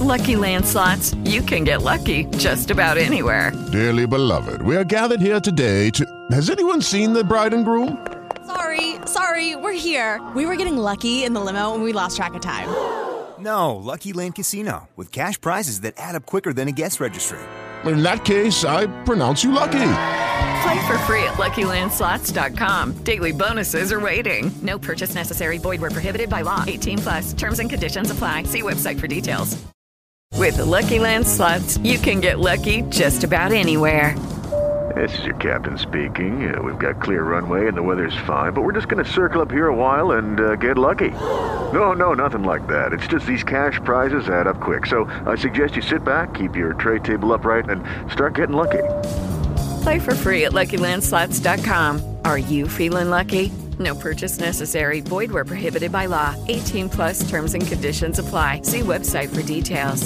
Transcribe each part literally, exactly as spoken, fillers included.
Lucky Land Slots, you can get lucky just about anywhere. Dearly beloved, we are gathered here today to... Has anyone seen the bride and groom? Sorry, sorry, we're here. We were getting lucky in the limo and we lost track of time. No, Lucky Land Casino, with cash prizes that add up quicker than a guest registry. In that case, I pronounce you lucky. Play for free at Lucky Land Slots dot com. Daily bonuses are waiting. No purchase necessary. Void where prohibited by law. eighteen plus. Terms and conditions apply. See website for details. With the Lucky Land Slots, you can get lucky just about anywhere. This is your captain speaking. Uh, we've got clear runway and the weather's fine, but we're just going to circle up here a while and uh, get lucky. No, no, nothing like that. It's just these cash prizes add up quick. So I suggest you sit back, keep your tray table upright, and start getting lucky. Play for free at Lucky Land Slots dot com. Are you feeling lucky? No purchase necessary. Void where prohibited by law. eighteen plus terms and conditions apply. See website for details.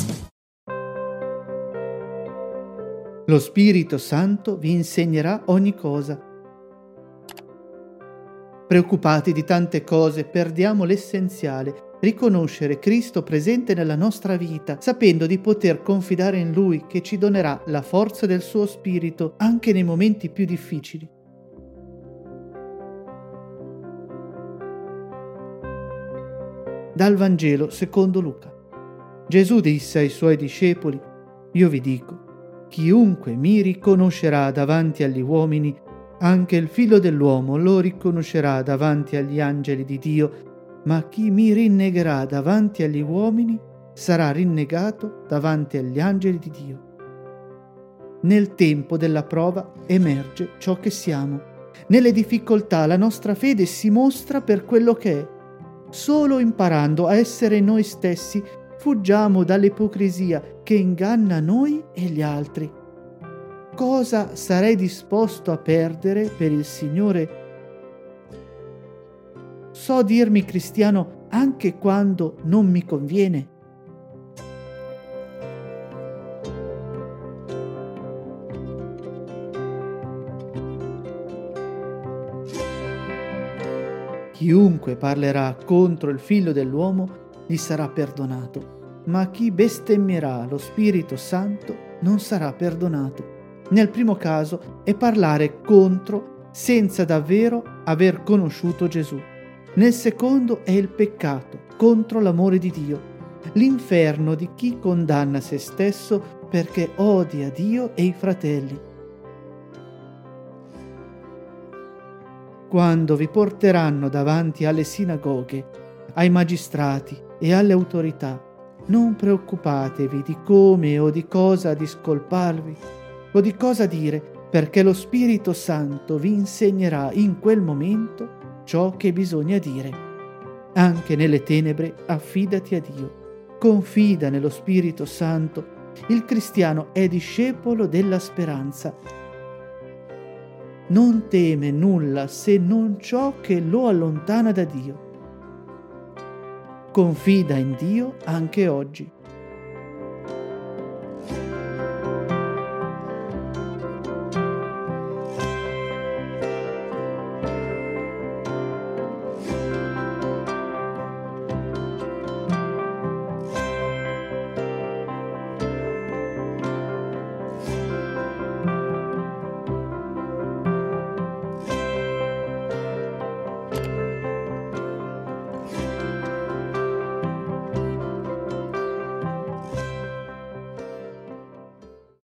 Lo Spirito Santo vi insegnerà ogni cosa. Preoccupati di tante cose, perdiamo l'essenziale, riconoscere Cristo presente nella nostra vita, sapendo di poter confidare in Lui che ci donerà la forza del suo Spirito anche nei momenti più difficili. Dal Vangelo secondo Luca. Gesù disse ai suoi discepoli: Io vi dico, chiunque mi riconoscerà davanti agli uomini, anche il Figlio dell'uomo lo riconoscerà davanti agli angeli di Dio, ma chi mi rinnegherà davanti agli uomini sarà rinnegato davanti agli angeli di Dio. Nel tempo della prova emerge ciò che siamo. Nelle difficoltà la nostra fede si mostra per quello che è. Solo imparando a essere noi stessi fuggiamo dall'ipocrisia che inganna noi e gli altri. Cosa sarei disposto a perdere per il Signore? So dirmi cristiano anche quando non mi conviene. Chiunque parlerà contro il Figlio dell'uomo gli sarà perdonato, ma chi bestemmierà lo Spirito Santo non sarà perdonato. Nel primo caso è parlare contro senza davvero aver conosciuto Gesù. Nel secondo è il peccato contro l'amore di Dio, l'inferno di chi condanna se stesso perché odia Dio e i fratelli. Quando vi porteranno davanti alle sinagoghe, ai magistrati e alle autorità, non preoccupatevi di come o di cosa discolparvi o di cosa dire, perché lo Spirito Santo vi insegnerà in quel momento ciò che bisogna dire. Anche nelle tenebre affidati a Dio. Confida nello Spirito Santo. Il cristiano è discepolo della speranza. Non teme nulla se non ciò che lo allontana da Dio. Confida in Dio anche oggi.